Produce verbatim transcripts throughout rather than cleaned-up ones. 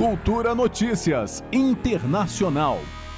Cultura Notícias Internacional.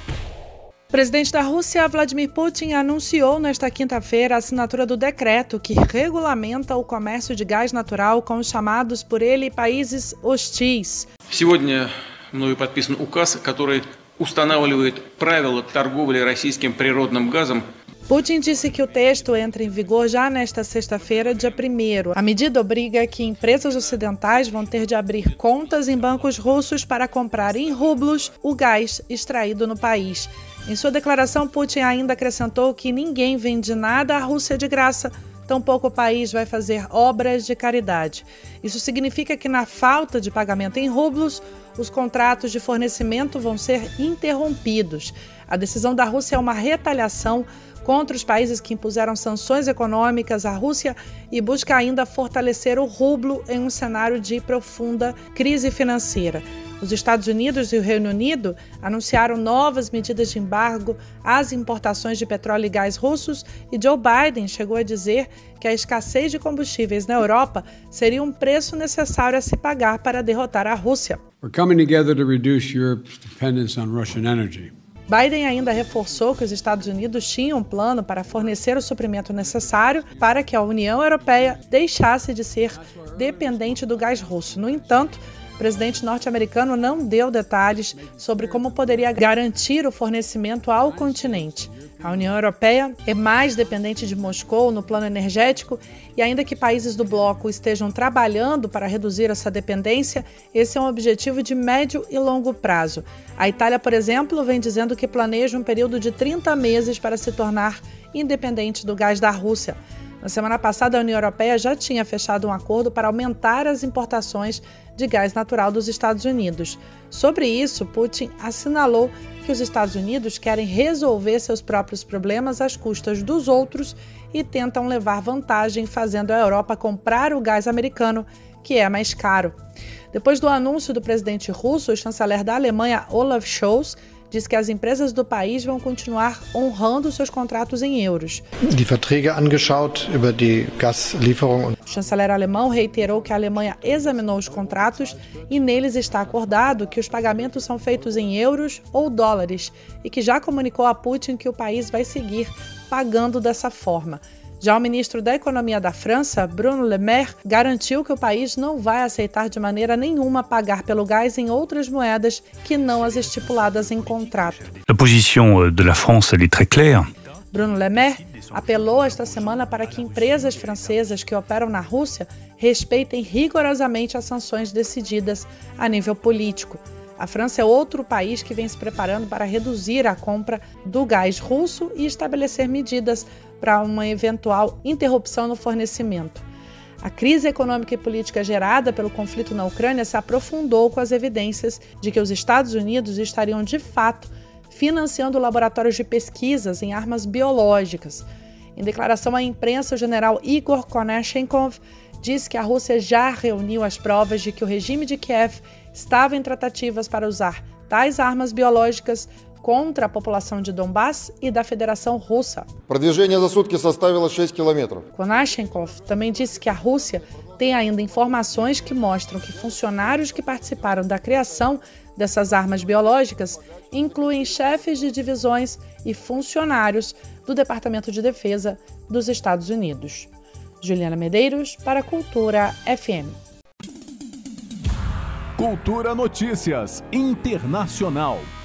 O presidente da Rússia, Vladimir Putin, anunciou nesta quinta-feira a assinatura do decreto que regulamenta o comércio de gás natural com os chamados por ele países hostis. Сегодня мною подписан указ, который устанавливает правила торговли российским природным газом. Putin disse que o texto entra em vigor já nesta sexta-feira, dia primeiro. A medida obriga que empresas ocidentais vão ter de abrir contas em bancos russos para comprar em rublos o gás extraído no país. Em sua declaração, Putin ainda acrescentou que ninguém vende nada à Rússia de graça, tampouco o país vai fazer obras de caridade. Isso significa que, na falta de pagamento em rublos, os contratos de fornecimento vão ser interrompidos. A decisão da Rússia é uma retaliação contra os países que impuseram sanções econômicas à Rússia e busca ainda fortalecer o rublo em um cenário de profunda crise financeira. Os Estados Unidos e o Reino Unido anunciaram novas medidas de embargo às importações de petróleo e gás russos e Joe Biden chegou a dizer que a escassez de combustíveis na Europa seria um preço necessário a se pagar para derrotar a Rússia. We're coming together to reduce Europe's dependence on Russian energy. Biden ainda reforçou que os Estados Unidos tinham um plano para fornecer o suprimento necessário para que a União Europeia deixasse de ser dependente do gás russo. No entanto, o presidente norte-americano não deu detalhes sobre como poderia garantir o fornecimento ao continente. A União Europeia é mais dependente de Moscou no plano energético e ainda que países do bloco estejam trabalhando para reduzir essa dependência, esse é um objetivo de médio e longo prazo. A Itália, por exemplo, vem dizendo que planeja um período de trinta meses para se tornar independente do gás da Rússia. Na semana passada, a União Europeia já tinha fechado um acordo para aumentar as importações de gás natural dos Estados Unidos. Sobre isso, Putin assinalou que os Estados Unidos querem resolver seus próprios problemas às custas dos outros e tentam levar vantagem fazendo a Europa comprar o gás americano, que é mais caro. Depois do anúncio do presidente russo, o chanceler da Alemanha, Olaf Scholz, diz que as empresas do país vão continuar honrando seus contratos em euros. Die Verträge angeschaut über die Gaslieferung. O chanceler alemão reiterou que a Alemanha examinou os contratos e neles está acordado que os pagamentos são feitos em euros ou dólares e que já comunicou a Putin que o país vai seguir pagando dessa forma. Já o ministro da Economia da França, Bruno Le Maire, garantiu que o país não vai aceitar de maneira nenhuma pagar pelo gás em outras moedas que não as estipuladas em contrato. A position de la France elle est très claire. Bruno Le Maire apelou esta semana para que empresas francesas que operam na Rússia respeitem rigorosamente as sanções decididas a nível político. A França é outro país que vem se preparando para reduzir a compra do gás russo e estabelecer medidas para uma eventual interrupção no fornecimento. A crise econômica e política gerada pelo conflito na Ucrânia se aprofundou com as evidências de que os Estados Unidos estariam, de fato, financiando laboratórios de pesquisas em armas biológicas. Em declaração à imprensa, o general Igor Konashenkov disse que a Rússia já reuniu as provas de que o regime de Kiev estava em tratativas para usar tais armas biológicas contra a população de Donbass e da Federação Russa. Продвижение за сутки составило шесть километров. Konashenkov também disse que a Rússia tem ainda informações que mostram que funcionários que participaram da criação dessas armas biológicas incluem chefes de divisões e funcionários do Departamento de Defesa dos Estados Unidos. Juliana Medeiros para Cultura F M. Cultura Notícias Internacional.